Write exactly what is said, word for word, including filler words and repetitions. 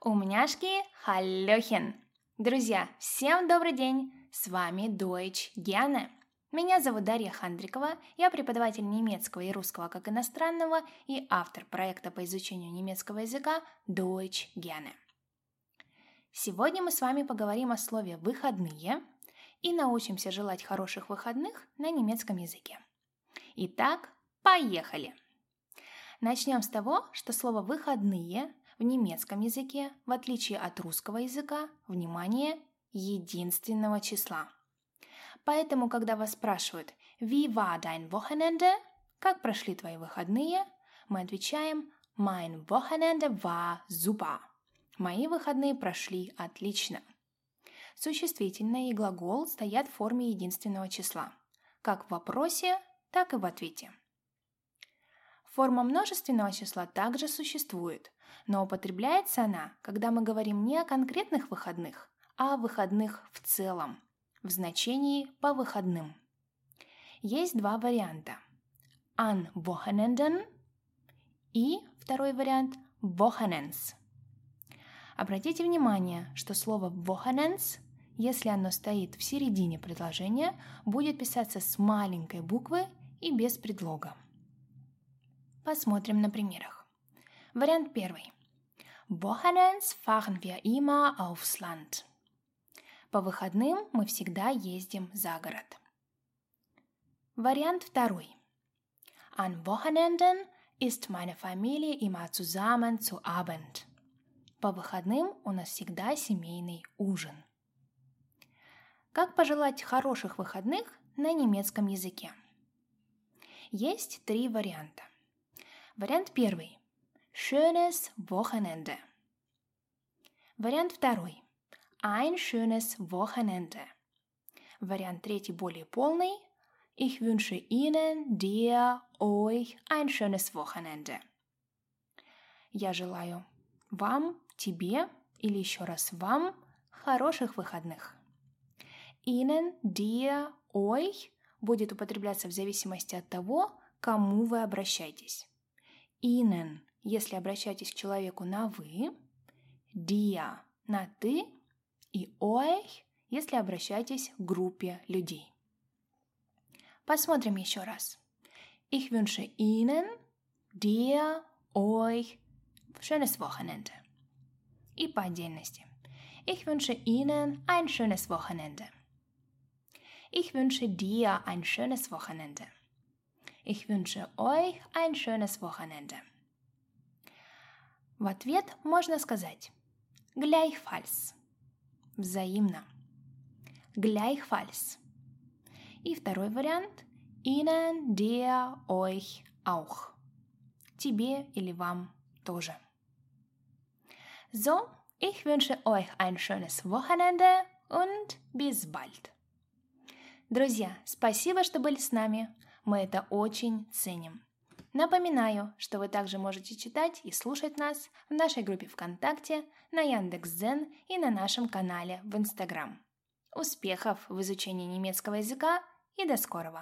Умняшки, халлёхен! Друзья, всем добрый день! С вами Deutsch gerne. Меня зовут Дарья Хандрикова, я преподаватель немецкого и русского как иностранного и автор проекта по изучению немецкого языка Deutsch gerne. Сегодня мы с вами поговорим о слове «выходные» и научимся желать хороших выходных на немецком языке. Итак, поехали! Начнем с того, что слово «выходные» в немецком языке, в отличие от русского языка, внимание, единственного числа. Поэтому, когда вас спрашивают «Wie war dein Wochenende?» «Как прошли твои выходные?» мы отвечаем «Mein Wochenende war super». «Мои выходные прошли отлично». Существительное и глагол стоят в форме единственного числа, как в вопросе, так и в ответе. Форма множественного числа также существует, но употребляется она, когда мы говорим не о конкретных выходных, а о выходных в целом, в значении «по выходным». Есть два варианта – an Wochenenden и второй вариант – Wochenends. Обратите внимание, что слово Wochenends, если оно стоит в середине предложения, будет писаться с маленькой буквы и без предлога. Посмотрим на примерах. Вариант первый. Wochenends fahren wir immer aufs Land. По выходным мы всегда ездим за город. Вариант второй. An Wochenenden ist meine Familie immer zusammen zu Abend. По выходным у нас всегда семейный ужин. Как пожелать хороших выходных на немецком языке? Есть три варианта. Вариант первый. Schönes Wochenende. Вариант второй. Ein schönes Wochenende. Вариант третий более полный. Ich wünsche Ihnen, dir, euch ein schönes Wochenende. Я желаю вам, тебе или еще раз вам хороших выходных. Ihnen, dir, euch будет употребляться в зависимости от того, к кому вы обращаетесь. Ihnen, если обращаетесь к человеку на «вы», dir на «ты» и euch, если обращаетесь к группе людей. Посмотрим еще раз. Ich wünsche Ihnen, dir, euch schönes Wochenende. И по отдельности. Ich wünsche Ihnen ein schönes Wochenende. Ich wünsche dir ein schönes Wochenende. Ich wünsche euch ein schönes Wochenende. В ответ можно сказать gleichfalls. Взаимно. Gleichfalls. И второй вариант Ihnen, dir, euch auch. Тебе или вам тоже. So, ich wünsche euch ein schönes Wochenende und bis bald. Друзья, спасибо, что были с нами. Мы это очень ценим. Напоминаю, что вы также можете читать и слушать нас в нашей группе ВКонтакте, на Яндекс.Дзен и на нашем канале в Инстаграм. Успехов в изучении немецкого языка и до скорого!